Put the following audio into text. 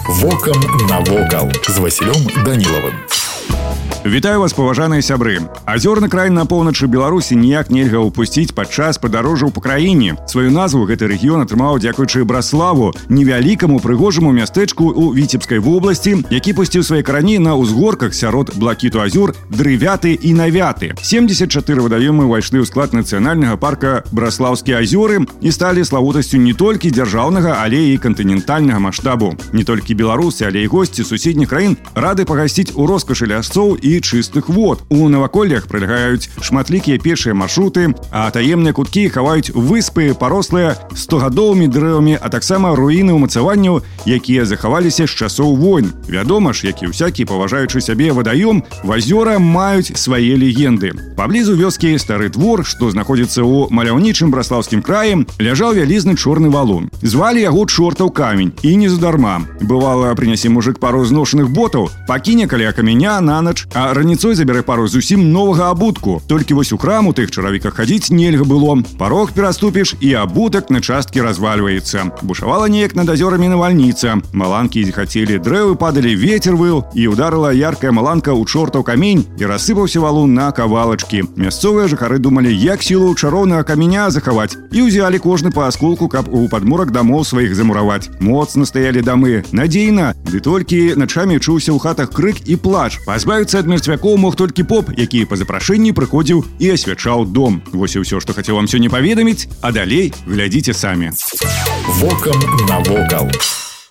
Вокам навокал з Васілём Данілавым. Вітаю вас, паважаныя сябры. Азёрны край на поўначы Беларусі ніяк нельга ўпусціць падчас падарожжаў па краіне. Сваю назву гэты рэгіён атрымаў дзякуючы Браславу, невялікаму прыгожаму мястэчку ў Віцебскай вобласці, які пусціў свае карані на ўзгорках сярод блакіту азёр Дрывяты і Навяты. 74 вадаёмы ўвайшлі ў склад нацыянальнага парка Браслаўскія азёры і сталі славутасцю не толькі дзяржаўнага, але і кантынентальнага маштабу. Не толькі беларусы, але і госці суседніх краін рады пагасціць у роскашы лясцоў і чыстых вод. У наваколлях прылягаюць шматлікія пешыя маршруты, а таемныя куткі хаваюць выспы, парослыя стогадовымі дрэвамі, а таксама руіны ўмацаванняў, якія захаваліся з часоў войн. Вядома ж, як і ўсякі паважаючы сябе вадаём, азёры маюць свае легенды. Паблізу вёскі Стары Двор, што знаходзіцца ў маляўнічым Браслаўскім краі, ляжаў вялізны чорны валун. Звалі яго Чортаў камень, і не задарма. Бывала, прынясе мужык пару зношаных ботаў, пакіне каля каменя на ноч, а раніцой забярэ пару зусім новага абутку. Толькі вось у храм у тых чаравіках хадзіць нельга было. Парог пераступіш, і абутак на часткі развальваецца. Бушавала неяк над азёрамі навальніца. Маланкі зіхацелі, дрэвы падалі, вецер выў, і ударыла яркая маланка ў Чортаў камень, і рассыпаўся валун на кавалачкі. Мясцовыя жыхары думалі, як сілу чароўнага каменя захаваць, і ўзялі кожны па асколку, каб у падмурак дамоў сваіх замураваць. Моцна стаялі дамы, надзейна, ды толькі начамі чуўся ў хатах крык і плач. Пазбавіцца ад мерцвякоў мог толькі поп, які па запрашэнні прыходзіў і асвячаў дом. Вось і ўсё, што хацеў вам сёння паведаміць, а далей глядзіце самі. Вокам навокал.